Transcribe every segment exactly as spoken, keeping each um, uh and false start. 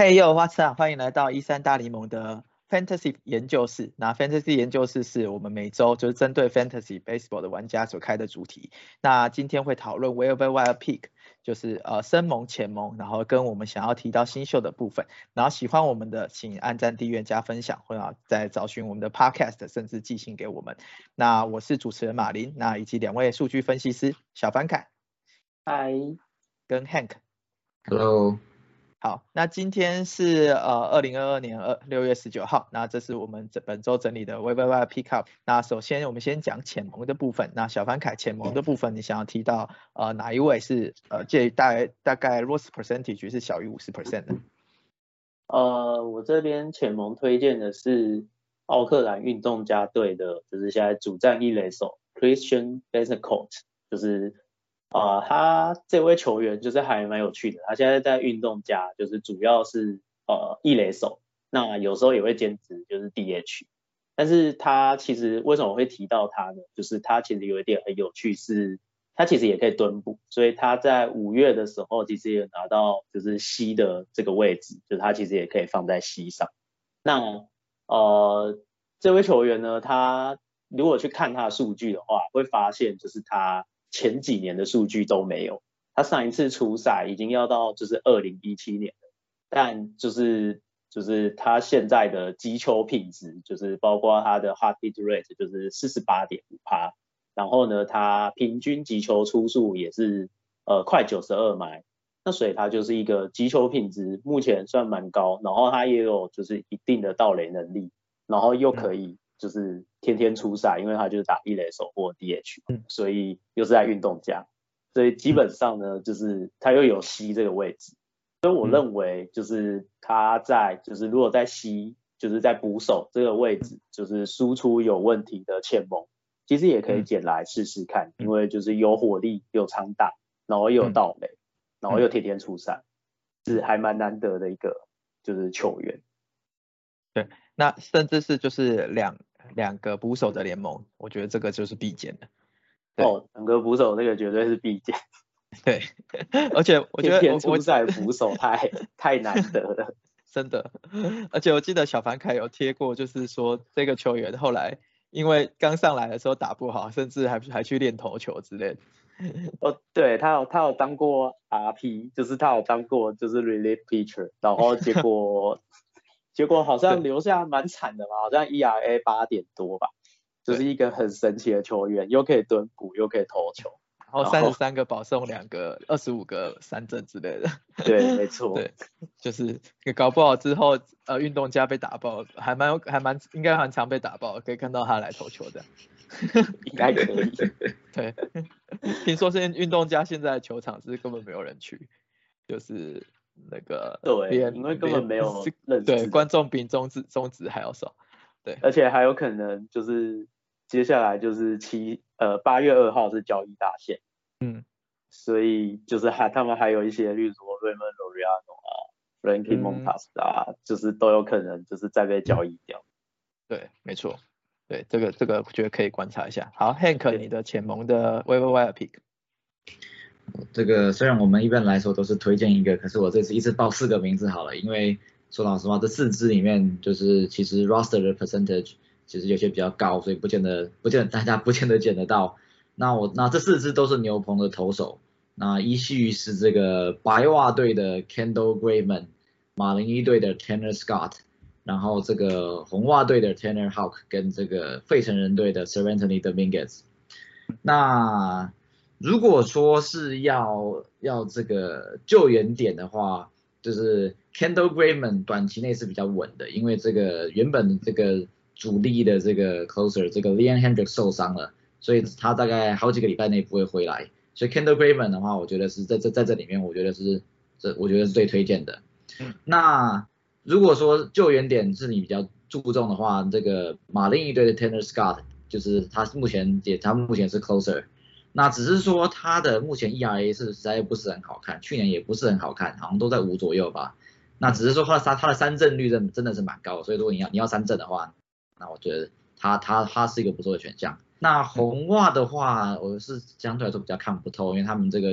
Hey yo，What's up？欢迎来到一三大联盟的 Fantasy 研究室。那 Fantasy 研究室是我们每周就是针对 Fantasy Baseball 的玩家所开的主题。那今天会讨论 Waiver Wire Pick，就是呃深盟、浅盟，然后跟我们想要提到新秀的部分。然后喜欢我们的，请按赞、订阅、加分享，或者再找寻我们的 Podcast，甚至寄信给我们。那我是主持人马林，那以及两位数据分析师小凡凯， 嗨， 跟 Hank。 Hello。 好，那今天是呃二零二二年二六月十九号，那这是我们这本周整理的 Waiver Wire Pickup。那首先我们先讲浅盟的部分。那小凡凯浅盟的部分，你想要提到呃哪一位是呃介于大概大概 loss percentage 是小于 百分之五十 的？ 呃，我这边浅盟推荐的是奥克兰运动家队的，就是现在主战一垒手 Christian Betancourt，就是啊、呃，他这位球员就是还蛮有趣的，他现在在运动家，就是主要是呃一垒手，那有时候也会兼职就是 D H， 但是他其实为什么会提到他呢？就是他其实有一点很有趣是，他其实也可以蹲捕，所以他在五月的时候其实也拿到就是C的这个位置，就是他其实也可以放在C上。那呃这位球员呢，他如果去看他的数据的话，会发现就是他前几年的数据都没有，他上一次出赛已经要到就是二零一七年了，但就是就是他现在的击球品质，就是包括他的 hard hit rate 就是 百分之四十八点五， 然后呢他平均击球出数也是呃快九十二迈，那所以他就是一个击球品质目前算蛮高，然后他也有就是一定的盗垒能力，然后又可以就是天天出赛，因为他就是打一垒手或 D H， 所以又是在运动家，所以基本上呢就是他又有 C 这个位置，所以我认为就是他在就是如果在 C 就是在捕手这个位置，就是输出有问题的浅盟，其实也可以捡来试试看，因为就是有火力有长打，然后又有盗垒，然后又天天出赛，是还蛮难得的一个就是球员。 对，那甚至是就是两两个捕手的联盟，我觉得这个就是必见的。 哦，两个捕手这个绝对是必见。 对，而且我觉得天天出赛捕手太太难得了， 真的。而且我记得小凡凯有贴过，就是说这个球员后来因为刚上来的时候打不好，甚至还还去练投球之类的。 哦，对，他有他有当过 R P， 就是他有当过就是 relief pitcher， 然后结果结果好像留下蛮惨的嘛，好像 E R A 八点多吧，就是一个很神奇的球员，又可以蹲捕又可以投球， 然后三十三个保送，两个二十五个三振之类的。 对，没错。 对，就是搞不好之后呃运动家被打爆，还蛮有还蛮应该很常被打爆，可以看到他来投球的。 应该可以。 对，听说是运动家现在的球场是根本没有人去，就是那个对，因为根本没有认识， 对，观众比中职中职还要少。对， 而且还有可能就是接下来就是七呃八月二号是交易大限， 嗯， 所以就是还他们还有一些，例如说 Raymond Laureano 啊、Frankie Montas 啊、嗯，就是都有可能就是再被交易掉。 对，没错。对，这个这个我觉得可以观察一下。好 ，Hank， 你的浅盟的 Waiver Wire Pick。 这个虽然我们一般来说都是推荐一个，可是我这次一次报四个名字好了，因为说老实话，这四支里面就是其实 roster 的 percentage 其实有些比较高，所以不见得不见得大家不见得捡得到。那我那这四支都是牛棚的投手，那依序是这个白袜队的 Kendall Graveman， 马林鱼队的 Tanner Scott， 然后这个红袜队的 Tanner Houck 跟这个费城人队的 Seranthony Dominguez。那如果说是要要这个救援点的话，就是 Kendall Graveman 短期内是比较稳的，因为这个原本这个主力的这个 closer 这个 Liam Hendriks 受伤了，所以他大概好几个礼拜内不会回来，所以 Kendall Graveman 的话，我觉得是在这在这里面，我觉得是这我觉得是最推荐的。那如果说救援点是你比较注重的话，这个马林鱼队的 Tanner Scott 就是他目前也他目前是 closer。那只是说他的目前 E R A 是实在不是很好看，去年也不是很好看，好像都在五左右吧。那只是说他的三他的三振率真真的是蛮高的，所以如果你要你要三振的话，那我觉得他他他是一个不错的选项。那红袜的话，我是相对来说比较看不透，因为他们这个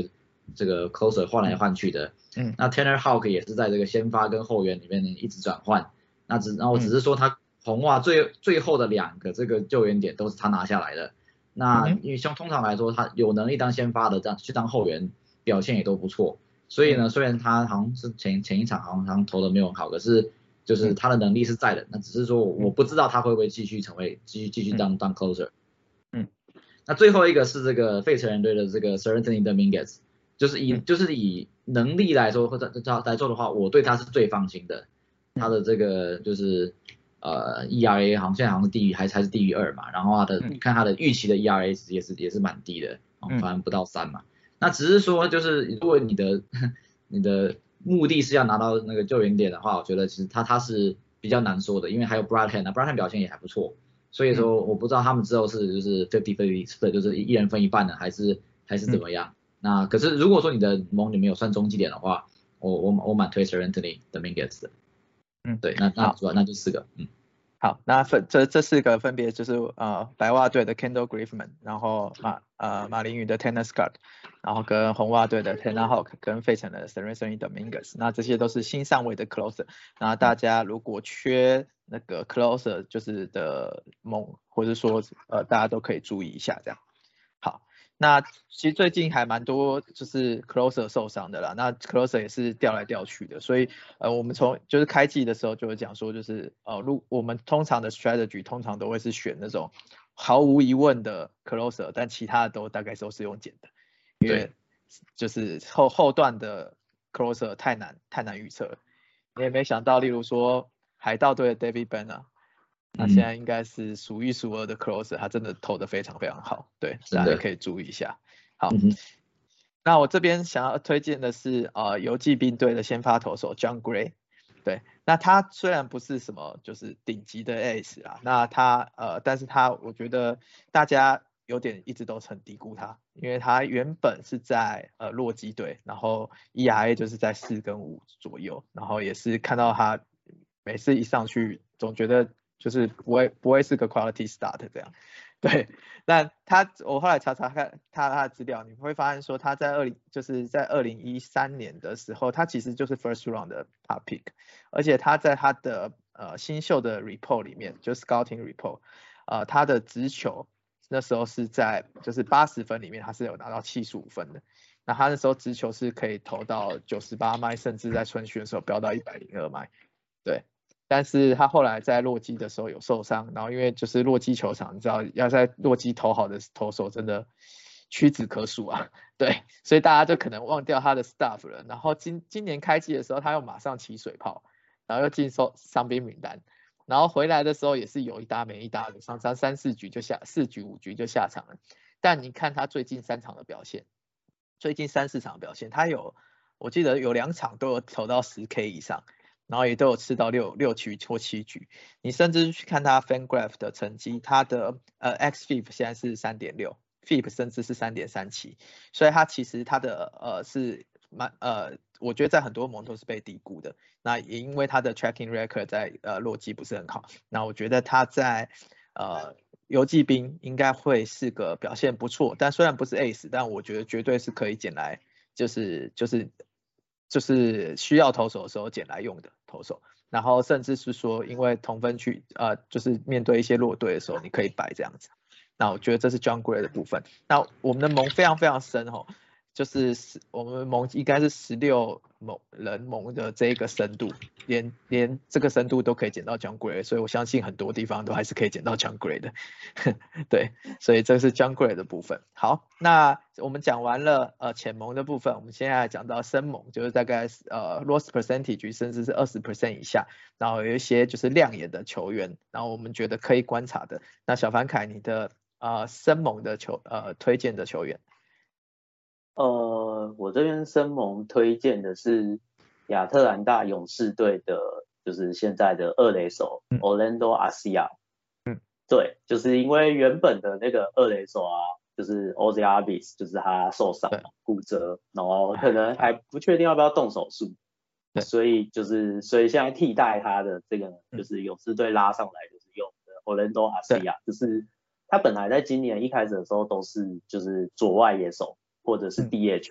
这个 closer 换来换去的。 嗯， 那 Tanner Houck 也是在这个先发跟后援里面一直转换。那只然后只是说他红袜最最后的两个这个救援点都是他拿下来的。那因为像通常来说，他有能力当先发的，这样去当后援表现也都不错。所以呢，虽然他好像是前前一场好像好像投的没有很好，可是就是他的能力是在的。那只是说我不知道他会不会继续成为继续继续当当 closer。 嗯， 那最后一个是这个费城人队的这个 Seranthony Dominguez， 就是以就是以能力来说或者来做的话，我对他是最放心的。他的这个就是呃 E R A 好像现在好像是低于还是还是低于二嘛，然后他的看他的预期的 E R A 也是也是蛮低的，反正不到三嘛。那只是说就是如果你的你的目的是要拿到那个救援点的话，我觉得其实他他是比较难说的，因为还有 Bradham 啊 ，Bradham 表现也还不错，所以说我不知道他们之后是就是 fifty fifty split 就是一人分一半的，还是还是怎么样。那可是如果说你的盟里面有算中继点的话，我我我蛮推 Seranthony Dominguez 的。嗯，对，那那主要那就四个，嗯。 好，那分这这四个分别就是呃白袜队的 Kendall Graveman， 然后马呃马林鱼的 Tanner Scott， 然后跟红袜队的 Tanner Houck， 跟费城的 Seranthony Dominguez， 那这些都是新上位的 closer。那大家如果缺那个 closer 就是的盟，或者说呃大家都可以注意一下这样。好。那其实最近还蛮多就是 closer 受伤的啦，那 closer 也是调来调去的，所以呃我们从就是开季的时候就会讲说，就是呃如我们通常的 strategy 通常都会是选那种毫无疑问的 closer， 但其他的都大概都是用捡的，因为就是后后段的 closer 太难太难预测了。你也没想到，例如说海盗队的 David Banner。他现在应该是数一数二的 closer， 他真的投得非常非常好，对，大家可以注意一下。好，嗯、那我这边想要推荐的是呃游骑兵队的先发投手 Jon Gray， 对，那他虽然不是什么就是顶级的 ace 啦，那他呃，但是他我觉得大家有点一直都很低估他，因为他原本是在呃洛基队，然后 E R A 就是在四跟五左右，然后也是看到他每次一上去总觉得。就是不会不会是个 quality start 这样，对。那他我后来查查看他他的资料，你会发现说他在二零就是在二零一三年的时候，他其实就是 first round 的 top pick， 而且他在他的呃新秀的 report 里面，就 scouting report， 呃他的直球那时候是在就是八十分里面他是有拿到七十五分的，那他那时候直球是可以投到九十八迈，甚至在春训的时候飙到一百零二迈，对。但是他后来在洛基的时候有受伤，然后因为就是洛基球场，你知道要在洛基投好的投手真的屈指可数啊，对，所以大家就可能忘掉他的 stuff 了。然后今今年开季的时候，他又马上起水泡，然后又进收伤兵名单，然后回来的时候也是有一搭没一搭的，常常三四局就下四局五局就下场了。但你看他最近三场的表现，最近三四场的表现，他有我记得有两场都有投到十 K 以上。然后也都有吃到六六局或七局，你甚至去看他 FanGraph 的成绩，他的呃 X F I P 现在是 三点六 ，F I P 甚至是 三点三七， 所以他其实他的呃是蛮呃，我觉得在很多盟都是被低估的。那也因为他的 tracking record 在呃洛基不是很好，那我觉得他在呃游骑兵应该会是个表现不错，但虽然不是 ace， 但我觉得绝对是可以捡来，就是就是。就是需要投手的时候捡来用的投手，然后甚至是说因为同分区呃就是面对一些弱队的时候你可以摆这样子，那我觉得这是 Jon Gray 的部分。那我们的盟非常非常深哦，就是我们盟应该是十六盟人盟的这个深度，连连这个深度都可以捡到 Jon Gray， 所以我相信很多地方都还是可以捡到 Jon Gray 的对，所以这是 Jon Gray 的部分。好，那我们讲完了呃浅盟的部分，我们现在讲到深盟，就是大概呃 loss percentage 甚至是 百分之二十 以下，然后有一些就是亮眼的球员，然后我们觉得可以观察的。那小凡凯你的呃深盟的球呃推荐的球员？ 呃，我这边深盟推荐的是亚特兰大勇士队的，就是现在的二垒手 Orlando Arcia。嗯，对，就是因为原本的那个二垒手啊，就是 Ozzy Albies， 就是他受伤骨折，然后可能还不确定要不要动手术，所以就是所以现在替代他的这个就是勇士队拉上来就是用的 Orlando Arcia， 就是他本来在今年一开始的时候都是就是左外野手或者是 D H，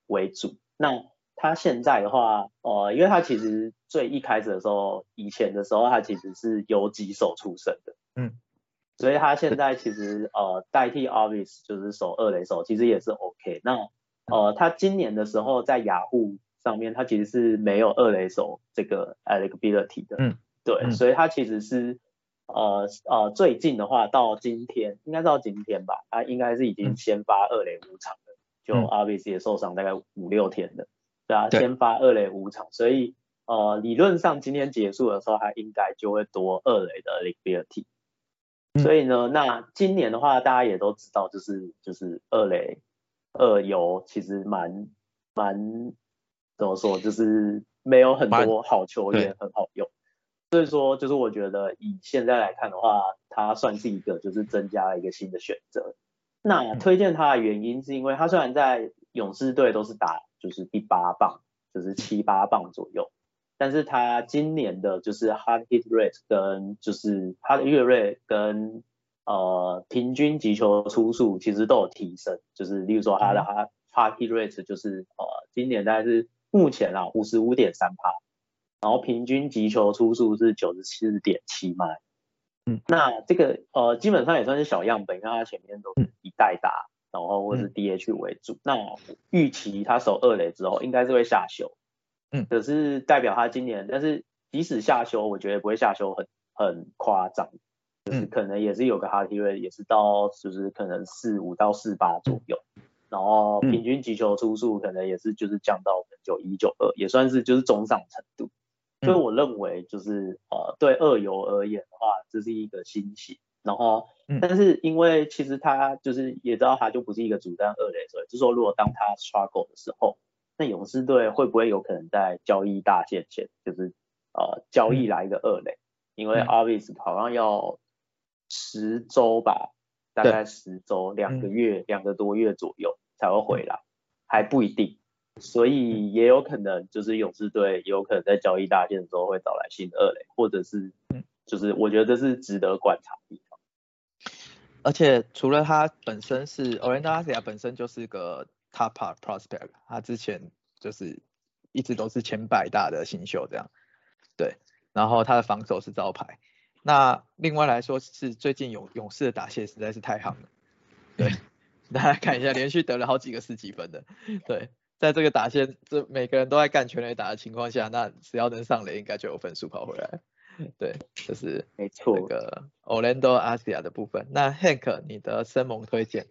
为主。那他现在的话，呃，因为他其实最一开始的时候，以前的时候他其实是游击手出身的， 嗯， 所以他现在其实呃代替 Obvious 就是守二垒手，其实也是 OK。那呃他今年的时候在雅虎上面，他其实是没有二垒手这个 eligibility 的， 嗯， 对， 嗯所以他其实是呃呃最近的话到今天，应该到今天吧，他应该是已经先发二垒五场了，就嗯 Obvious 也受伤大概五六天了。对啊， 对先发二垒五场，所以呃理论上今天结束的时候，他应该就会多二垒的 eligibility。所以呢，那今年的话，大家也都知道，就是就是二垒二游其实蛮蛮怎么说，就是没有很多好球员很好用。所以说，就是我觉得以现在来看的话，他算是一个就是增加了一个新的选择。那推荐他的原因是因为他虽然在勇士队都是打就是第八棒，就是七八棒左右，但是他今年的就是 hard hit rate 跟就是他的越锐跟呃平均击球出速其实都有提升，就是例如说他的 hard hard hit rate 就是呃今年大概是目前啊 五十五点三趴，然后平均击球出速是 九十四点七迈。 嗯， 那这个呃基本上也算是小样本，因为他前面都是以代打，然后或是 D H 为主。嗯、那预期他守二垒之后应该是会下修， 嗯， 可是代表他今年，但是即使下修，我觉得不会下修很很夸张，就是可能也是有个 hard hit rate 也是到就是可能四五到四八左右，然后平均击球出速可能也是就是降到九一九二，也算是就是中上程度。所以我认为就是呃对二游而言的话，这是一个新喜。然后，但是因为其实他就是也知道他就不是一个主战二垒手，就是说如果当他 struggle 的时候，那勇士队会不会有可能在交易大限前，就是呃交易来一个二垒？因为 Obvious 好像要十周吧，大概十周，两个月，两个多月左右才会回来，还不一定。所以也有可能就是勇士队也有可能在交易大限的时候会找来新的二垒，或者是就是我觉得这是值得观察的地方。 而且除了他本身是 Orlando Arcia 本身就是个 top prospect， 他之前就是一直都是前百大的新秀这样，对，然后他的防守是招牌。那另外来说是最近勇勇士的打线实在是太夯了，对，大家看一下连续得了好几个十几分的，对。在这个打线，这每个人都在干全垒打的情况下，那只要能上垒，应该就有分数跑回来。对，这是没错。 那个 Orlando Arcia 的部分。那 Hank， 你的生盟推荐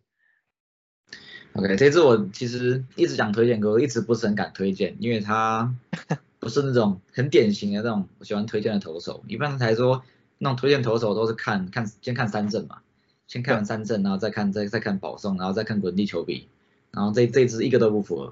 ？OK， 这支我其实一直想推荐，可我一直不是很敢推荐，因为他不是那种很典型的那种我喜欢推荐的投手。一般来说，那种推荐投手都是看看先看三振嘛，先看完三振，然后再看再再看保送，然后再看滚地球比，然后这这支一个都不符合。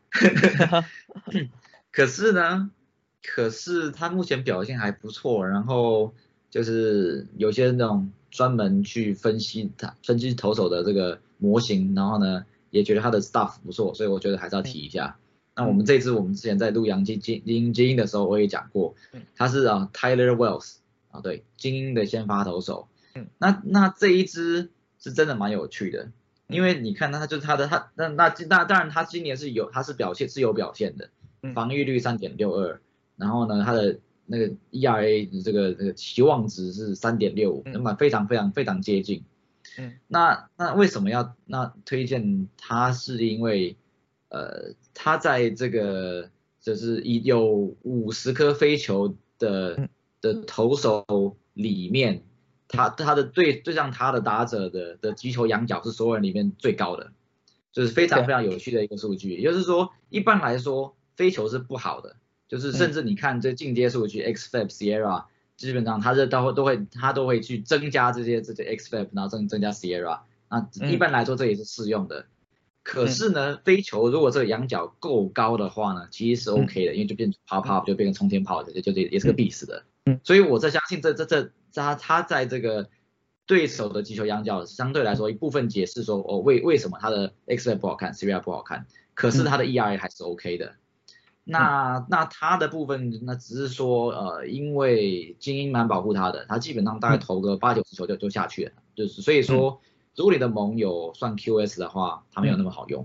可是呢，可是他目前表现还不错，然后就是有些那种专门去分析他分析投手的这个模型，然后呢也觉得他的 stuff 不错，所以我觉得还是要提一下。那我们这支我们之前在录洋基精英精英的时候我也讲过，他是啊 Tyler Wells 啊对精英的先发投手，那那这一支是真的蛮有趣的。因为你看他就是他的他那那那当然他今年是有他是表现是有表现的，防御率 三点六二， 然后呢他的那个 E R A 这个这个期望值是 三点六五， 那么非常非常非常接近。嗯，那那为什么要那推荐他？是因为呃他在这个就是有五十颗飞球的的投手里面。他他的对对上他的打者的的击球仰角是所有人里面最高的，就是非常非常有趣的一个数据。也就是说，一般来说飞球是不好的，就是甚至你看这进阶数据 X F A B Sierra， 基本上他这都会都会他都会去增加这些这些 X F A B， 然后增增加 Sierra， 那一般来说这也是适用的。可是呢，飞球如果这个仰角够高的话呢，其实是 OK 的，因为就变 pop pop 就变成冲天炮的，就就也是个必死的。所以我在相信这这这他他在这个对手的击球仰角相对来说一部分解释说哦为为什么他的 X F A B 不好看 Sierra 不好看，可是他的 E R A 还是 OK 的。那那他的部分那只是说呃因为精英蛮保护他的，他基本上大概投个八九十球就就下去了，就是所以说如果你的盟有算 Q S 的话，他没有那么好用。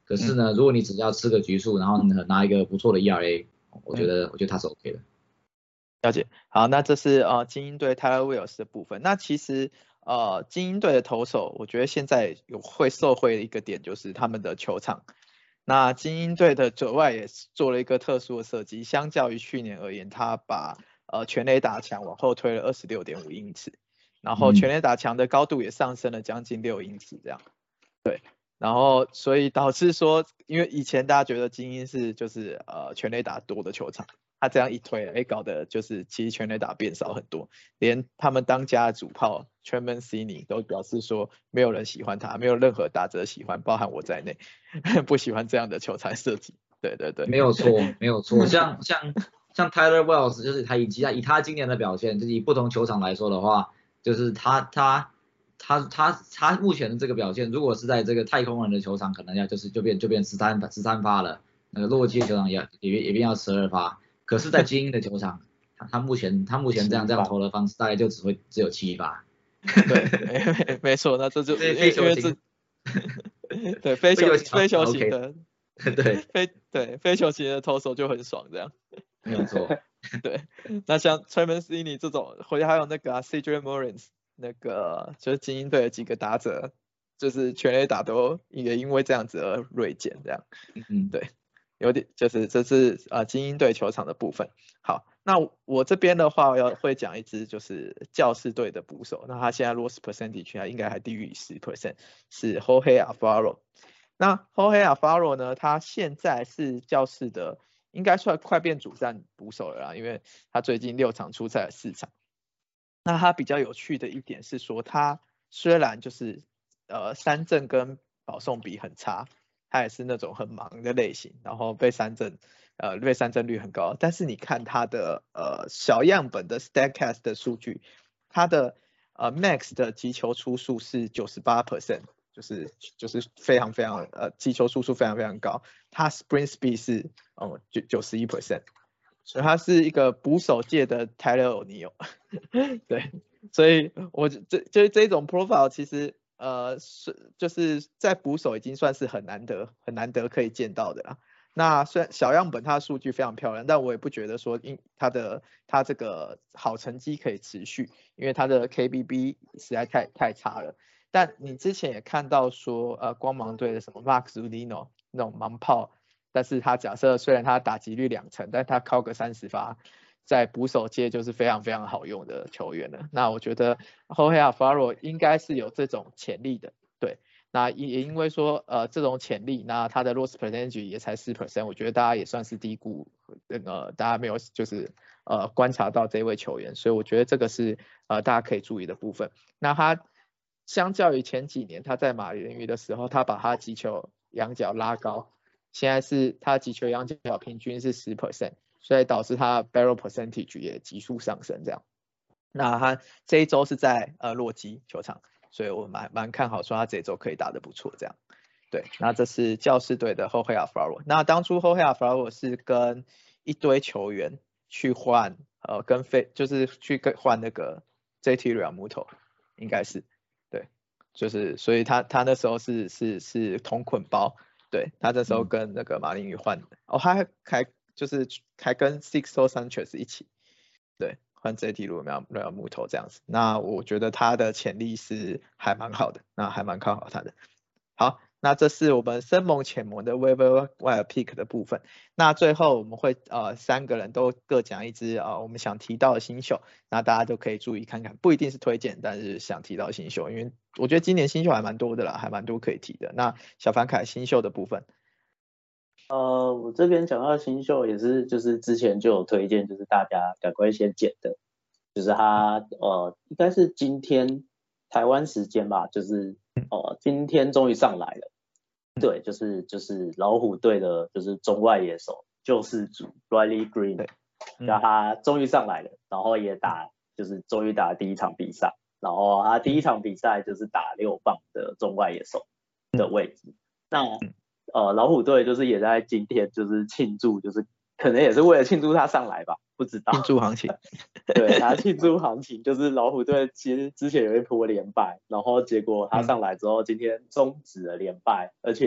可是呢，如果你只要吃个局数，然后拿一个不错的 E R A， 我觉得、嗯、我觉得他是 OK 的。 了解。好，那这是呃精英队 Tyler Wells 的部分。那其实呃精英队的投手，我觉得现在有会受惠的一个点就是他们的球场。那精英队的左外也做了一个特殊的设计，相较于去年而言，他把呃全垒打墙往后推了 二十六点五英尺，然后全垒打墙的高度也上升了将近六英尺这样。对。然后所以导致说，因为以前大家觉得精英是就是呃全垒打多的球场，他这样一推，哎，搞得就是其实全垒打变少很多，连他们当家的主炮 Trey Mancini 都表示说，没有人喜欢他，没有任何打者喜欢，包含我在内，不喜欢这样的球场设计。对对对， 没有错，没有错。像像像 Tyler Wells， 就是他以及他以他今年的表现，就是以不同球场来说的话，就是他他。他他他目前的这个表现，如果是在这个太空人的球场，可能要就是就变就变十三十三发了。那个洛基的球场也也也变要十二发。可是，在精英的球场，他他目前他目前这样这样投的方式，大概就只会只有七发。 对，没没错，那这就因为因为这对非球非球型的， 对非对非球型的投手就很爽这样。 没有错。 对，那像 Trey Mancini 这种，或者还有那个、啊、C J Morris。那个就是精英队的几个打者，就是全垒打都也因为这样子而锐减，这样， 嗯， 对，有点就是这是呃精英队球场的部分。好，那我这边的话要会讲一支就是教士队的捕手，那他现在 loss percentage 还应该还低于 百分之十， 是 Jorge Alfaro。那 Jorge Alfaro 呢，他现在是教士的，应该算快变主战捕手了啦，因为他最近六场出赛了四场。那他比较有趣的一点是说，他虽然就是呃三振跟保送比很差，他也是那种很忙的类型，然后被三振呃被三振率很高，但是你看他的呃小样本的 Statcast 的数据，他的呃 Max 的击球出数是 百分之九十八， 就是就是非常非常呃击球出数非常非常高，他 Sprint Speed 是哦九九十一 percent。所以他是一个捕手界的 Tyler O'Neill， 对，所以我这就是这种 profile 其实呃是就是在捕手已经算是很难得很难得可以见到的啦。那虽然小样本它的数据非常漂亮，但我也不觉得说因他的他这个好成绩可以持续，因为他的 K B B 实在太太差了。但你之前也看到说呃光芒队的什么 Mark Zunino 那种盲炮。但是他假设虽然他打击率两成，但他靠个三十发，在捕手界就是非常非常好用的球员了。那我觉得 Jorge Alfaro 应该是有这种潜力的，对。那也因为说呃这种潜力，那他的 loss percentage 也才 百分之四， 我觉得大家也算是低估，那个大家没有就是呃观察到这位球员，所以我觉得这个是呃大家可以注意的部分。那他相较于前几年他在马林鱼的时候，他把他击球仰角拉高。现在是他击球仰角平均是 百分之十， 所以导致他 barrel percentage 也急速上升这样。那他这一周是在呃洛基球场，所以我蛮蛮看好说他这一周可以打得不错这样。对，那这是教士队的 Jorge Alfaro。那当初 Jorge Alfaro 是跟一堆球员去换呃跟非就是去跟换那个 J T Realmuto 应该是对，就是所以他他那时候是是是同捆包。对，他这时候跟那个马林鱼换的，哦，他还还就是还跟 Sixto Sanchez 一起，对，换 J T 路苗苗木头这样子。那我觉得他的潜力是还蛮好的，那还蛮看好他的。好，那这是我们深盟浅盟的 Waiver Wire Pick 的部分。那最后我们会呃三个人都各讲一支啊、呃、我们想提到的新秀，那大家都可以注意看看，不一定是推荐，但是想提到新秀，因为我觉得今年新秀还蛮多的啦，还蛮多可以提的。那小凡凯新秀的部分， 呃，我这边讲到新秀也是，就是之前就有推荐，就是大家赶快先捡的，就是他呃应该是今天台湾时间吧，就是呃今天终于上来了，对，就是就是老虎队的，就是中外野手救世主 Riley Green， 然后他终于上来了，然后也打就是终于打第一场比赛，然后他第一场比赛就是打六棒的中外野手的位置，那呃老虎队就是也在今天就是庆祝，就是可能也是为了庆祝他上来吧，不知道庆祝行情， 对，他庆祝行情就是老虎队其实之前有一波连败，然后结果他上来之后今天终止了连败，而且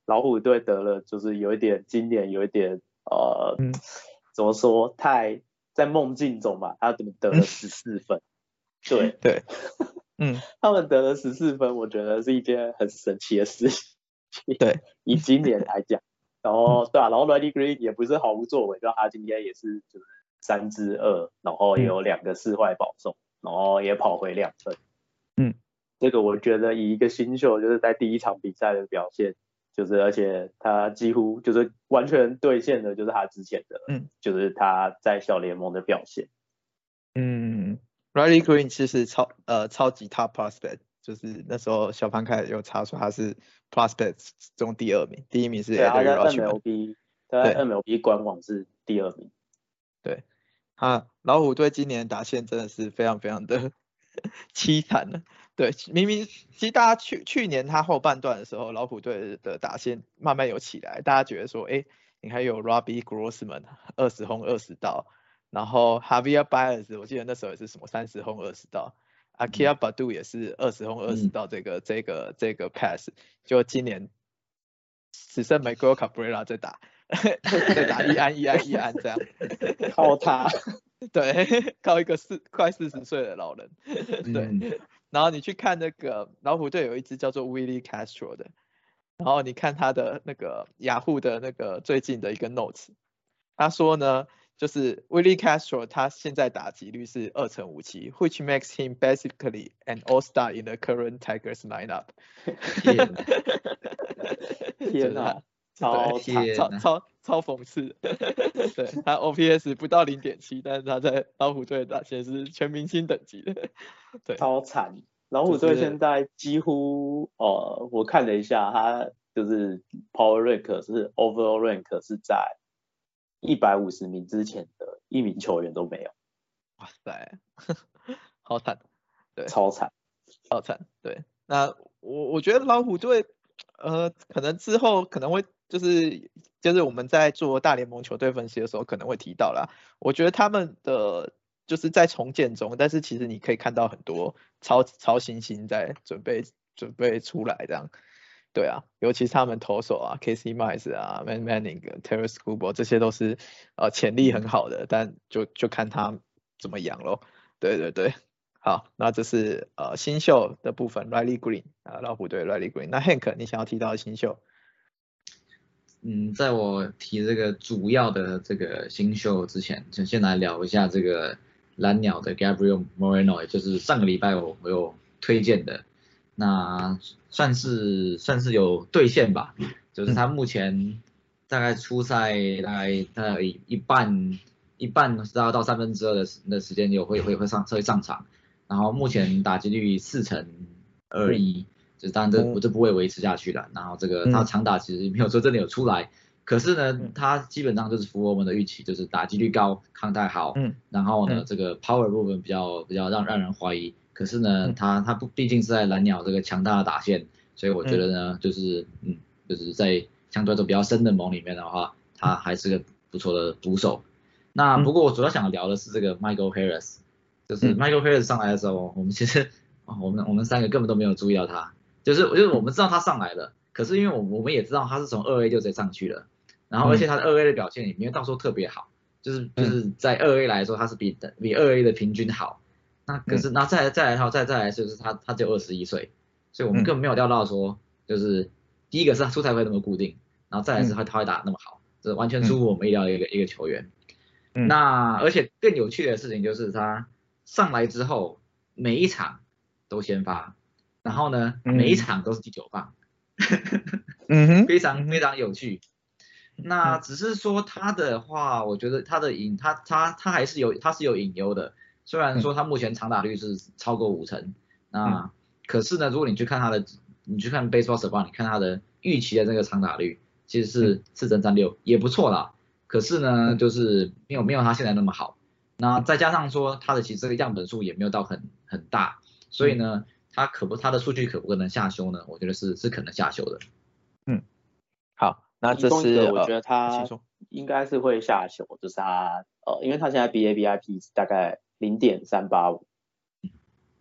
老虎队得了，就是有一点今年有一点呃， 嗯、 怎么说，太在梦境中吧，他怎么得了十四分？对对，嗯， 他们得了十四分，我觉得是一件很神奇的事情。 对， 以今年来讲，然后对啊，然后 Riley Green 也不是毫无作为，就他今天也是就是三支二，然后也有两个四坏保送，然后也跑回两分。 嗯， 这个我觉得以一个新秀就是在第一场比赛的表现，就是而且他几乎就是完全兑现了就是他之前的，嗯，就是他在小联盟的表现。 嗯 ，Riley Green 其实超呃超级 top prospect， 就是那时候小潘开有查出他是 prospect 中第二名，第一名是 Adley Rutschman。 对，他在 M L B， 他在 M L B 官网是第二名。 对，啊，老虎队今年打线真的是非常非常的凄惨了。对，明明其实大家去去年他后半段的时候，老虎队的打线慢慢有起来，大家觉得说，哎，你还有 Robbie Grossman 二十轰二十盗，然后 Javier Baez 我记得那时候也是什么三十轰二十盗， Akira Baddoo 也是二十轰二十盗这个、嗯、这个这个 pass， 就今年只剩 Miguel Cabrera 在打。在打一安一安一安这样， 靠他， 对，靠一个四快四十岁的老人，对、嗯。然后你去看那个老虎队有一支叫做 Willie Castro 的，然后你看他的那个雅虎的那个最近的一个 notes， 他说呢，就是 Willie Castro 他现在打击率是二成五七 ，which makes him basically an all-star in the current Tigers lineup。 天哪！天哪！超超超超讽刺，对，他 O P S 不到 零点七， 但是他在老虎队打线是全明星等级的，对， 超惨。老虎队现在几乎、就是、呃，我看了一下，他就是 Power Rank 是 Overall Rank 是在一百五十名之前的一名球员都没有。 哇塞，好惨，对， 超惨， 超惨，对。那我我觉得老虎队，呃，可能之后可能会。就是就是我们在做大联盟球队分析的时候可能会提到啦，我觉得他们的就是在重建中，但是其实你可以看到很多超超新星在准备准备出来这样，对啊，尤其是他们投手啊 ，Casey Mize 啊 ，Man Manning、Taylor Skubal 这些都是呃潜力很好的，但就就看他怎么养咯。对对对，好，那这是呃新秀的部分 ，Riley Green 啊，老虎队 Riley Green。那 Hank 你想要提到的新秀？ 嗯，在我提这个主要的这个新秀之前，就先来聊一下这个蓝鸟的 Gabriel Moreno， 也就是上个礼拜我我有推荐的，那算是算是有兑现吧，就是他目前大概出赛大概大概一一半一半到到三分之二的的时间有会会会上会上场，然后目前打击率四成二一。就是当然这我这不会维持下去了，然后这个他长打其实没有说真的有出来，可是呢他基本上就是符合我们的预期，就是打击率高，抗带好，然后呢这个 power 部分比较比较让让人怀疑，可是呢他他不毕竟是在蓝鸟这个强大的打线，所以我觉得呢就是嗯就是在相对来说比较深的盟里面的话，他还是个不错的捕手。那不过我主要想聊的是这个 Michael Harris， 就是 Michael Harris 上来的时候，我们其实我们我们三个根本都没有注意到他。就是就是我们知道他上来了，可是因为我我们也知道他是从二 A 就直接上去了，然后而且他的二 A 的表现也没有到时候特别好，就是就是在二 A 来说他是比比二 A 的平均好，那可是那再来再来好再再来就是他他只有二十一岁，所以我们根本没有料到说就是第一个是他出赛会那么固定，然后再来是他他会打那么好，这完全出乎我们意料的一个一个球员。那而且更有趣的事情就是他上来之后每一场都先发。然后呢，每一场都是第九棒，嗯哼，非常非常有趣。那只是说他的话，我觉得他的隐他他他还是有他是有隐忧的，虽然说他目前长打率是超过五成，那可是呢，如果你去看他的，你去看 Baseball Savant， 你看他的预期的这个长打率其实是四成三六，也不错啦。可是呢，就是没有没有他现在那么好。那再加上说他的其实这个样本数也没有到很很大，所以呢。他可不，他的数据可不可能下修呢？我觉得是是可能下修的。 嗯，好，那这是我觉得他应该是会下修，就是他呃，因为他现在 B A B I P 大概零点三八五，然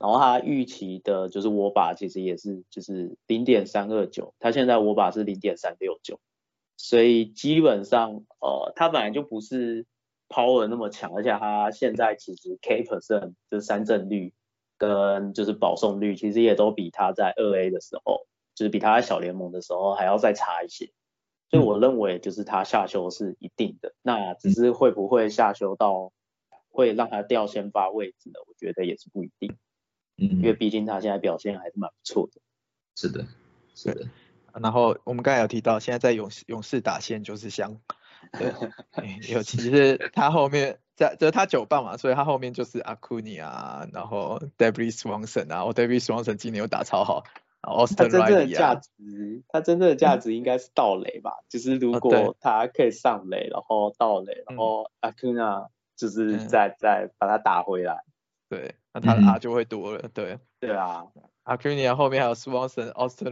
然后它预期的就是握把其实也是就是零点三二九，它现在握把是零点三六九，所以基本上呃它本来就不是 power 那么强，而且它现在其实 K percent 就是三振率跟就是保送率其实也都比它在二 A 的时候，就是比它在小联盟的时候还要再差一些。所以我认为就是他下修是一定的，那只是会不会下修到会让他掉先发位置呢？我觉得也是不一定， 嗯， 因为毕竟他现在表现还是蛮不错的。 是的，是的。 然后我们刚才有提到，现在在勇士勇士打线就是香，对，尤其是他后面在就是他九棒嘛，所以他后面就是 Acuna 啊，然后 David Swanson 啊，哦 David Swanson 今年又打超好。 他真正的价值， 他真正的价值应该是盗垒吧，就是如果他可以上垒，然后盗垒，然后 Acuna 就是再、嗯、再把他打回来， 对，那他的 R 就会多了，对， 对啊 ，Acuna 后面还有 Swanson、Austin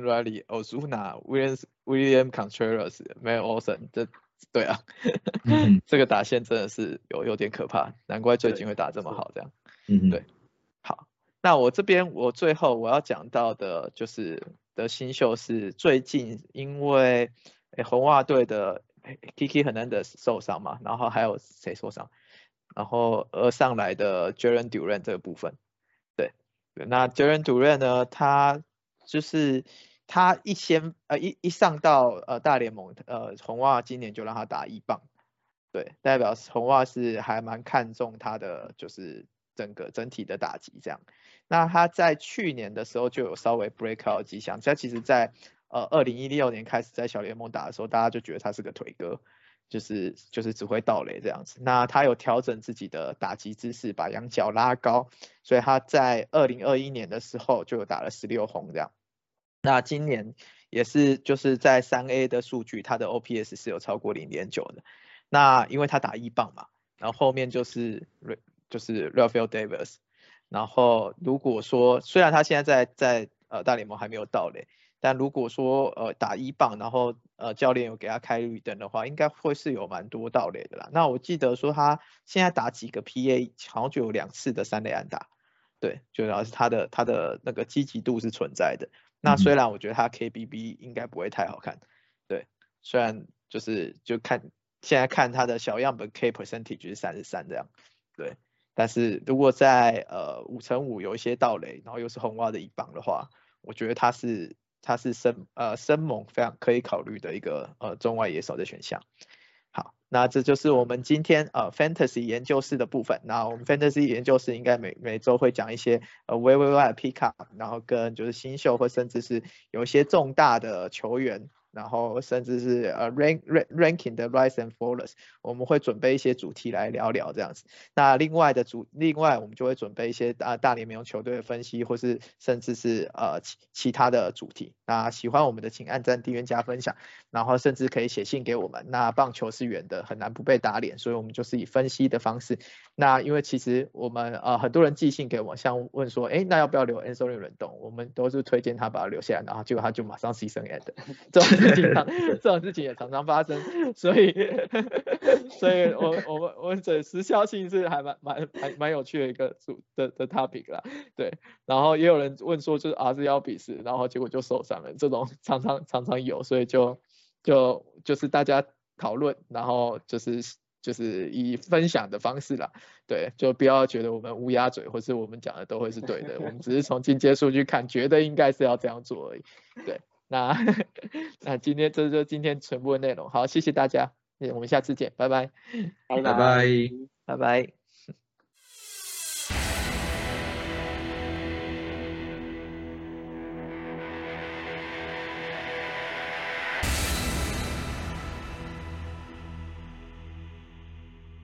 Riley、Ozuna、William Contreras，没有 Olsen， 这对啊，这个打线真的是有有点可怕，难怪最近会打这么好，这样， 嗯， 对，好。那我这边我最后我要讲到的就是的新秀是最近因为红袜队的 Kiki Hernandez 受伤嘛，然后还有谁受伤，然后而上来的 Jalen Duran 这个部分，对，那 Jalen Duran 呢，他就是他一先呃一一上到呃大联盟，呃红袜今年就让他打一棒，对，代表红袜是还蛮看重他的就是整个整体的打击这样。那他在去年的时候就有稍微 break out 迹象，他其实在呃二零一六年开始在小联盟打的时候，大家就觉得他是个腿哥，就是就是只会盗垒这样子。那他有调整自己的打击姿势，把仰角拉高，所以他在二零二一年的时候就有打了十六轰这样。那今年也是就是在三 A 的数据，他的 O P S 是有超过零点九的。那因为他打一棒嘛，然后后面就是就是 Rafael Devers。然后如果说虽然他现在在在呃大联盟还没有到垒，但如果说呃打一棒，然后呃教练有给他开绿灯的话，应该会是有蛮多盗垒的啦。那我记得说他现在打几个 P A 好像就有两次的三垒安打，对，就然后他的他的那个积极度是存在的。那虽然我觉得他 K B B 应该不会太好看，对，虽然就是就看现在看他的小样本 K percentage 是三十三这样，对。但是如果在呃五乘五有一些盗垒，然后又是红袜的一棒的话，我觉得他是他是深呃深猛非常可以考虑的一个呃中外野手的选项。好，那这就是我们今天呃 Fantasy 研究室的部分。那我们 Fantasy 研究室应该每每周会讲一些呃 Waiver Pick Up， 然后跟就是新秀或甚至是有一些重大的球员。然后甚至是呃 rank ranking 的 rise and fallers， 我们会准备一些主题来聊聊这样子。那另外的主，另外我们就会准备一些大大联盟球队的分析，或是甚至是呃其其他的主题。那喜欢我们的请按赞、订阅、加分享，然后甚至可以写信给我们。那棒球是圆的，很难不被打脸，所以我们就是以分析的方式。那因为其实我们呃很多人寄信给我，像问说，哎，那要不要留 Anthony Rendon？ 我们都是推荐他把他留下来，然后结果他就马上 season end。这种事情常这种事情也常常发生，所以所以我我们我们这时效性是还蛮蛮蛮蛮有趣的一个主的的 topic 啦，对。然后也有人问说就是 R 是要比试，然后结果就受伤了，这种常常常常有，所以就就就是大家讨论，然后就是就是以分享的方式啦，对，就不要觉得我们乌鸦嘴，或是我们讲的都会是对的，我们只是从进阶数据看，觉得应该是要这样做而已，对。那那今天这就是今天全部的内容，好，谢谢大家，我们下次见，拜拜， 拜拜拜， 拜拜。